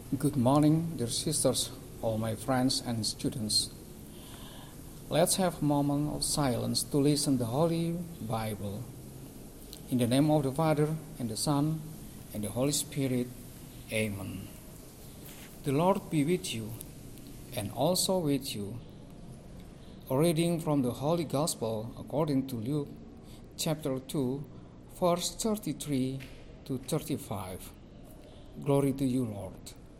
Good morning, dear sisters, all my friends and students. Let's have a moment of silence to listen to the Holy Bible. In the name of the Father, and the Son, and the Holy Spirit. Amen. The Lord be with you, and also with you. A reading from the Holy Gospel according to Luke, chapter 2, verse 33 to 35. Glory to you, Lord.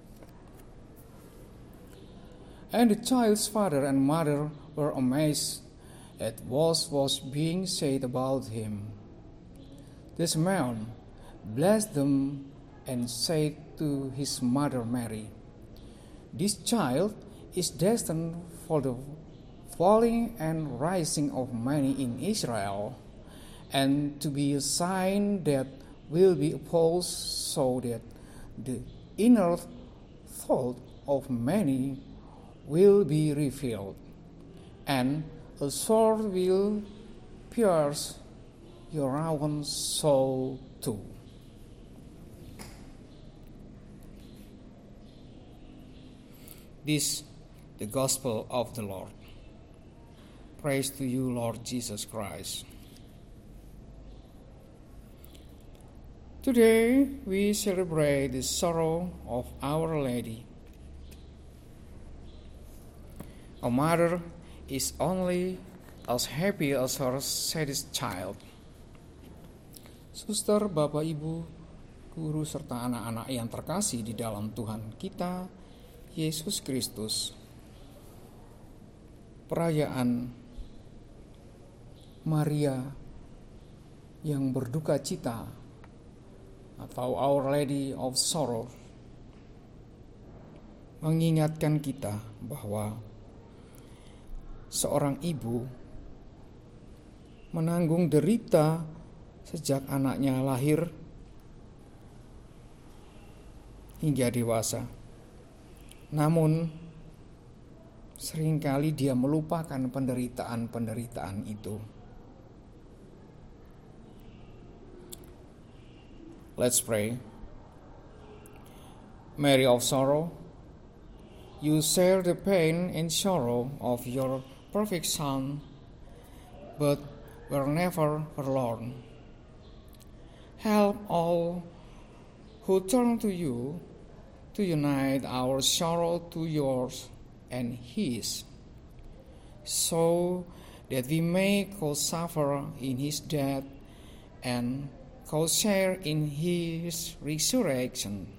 And the child's father and mother were amazed at what was being said about him. This man blessed them and said to his mother Mary, "This child is destined for the falling and rising of many in Israel, and to be a sign that will be opposed, so that the inner thought of many will be revealed, and a sword will pierce your own soul too." This the gospel of the Lord. Praise to you, Lord Jesus Christ. Today we celebrate the sorrow of Our Lady. A mother is only as happy as her saddest child. Suster, Bapak, Ibu, guru, serta anak-anak yang terkasih di dalam Tuhan kita, Yesus Kristus. Perayaan Maria yang berduka cita atau Our Lady of Sorrow mengingatkan kita bahwa seorang ibu menanggung derita sejak anaknya lahir hingga dewasa. Namun, seringkali dia melupakan penderitaan-penderitaan itu. Let's pray. Mary of Sorrow, you share the pain and sorrow of your perfect Son, but were never forlorn. Help all who turn to you to unite our sorrow to yours and His, so that we may co-suffer in His death and co-share in His resurrection.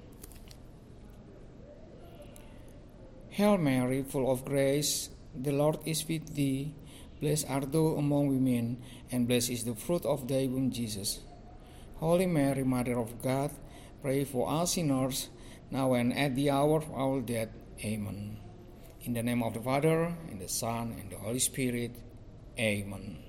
Hail Mary, full of grace, the Lord is with thee. Blessed art thou among women, and blessed is the fruit of thy womb, Jesus. Holy Mary, Mother of God, pray for us sinners, now and at the hour of our death. Amen. In the name of the Father, and the Son, and the Holy Spirit. Amen.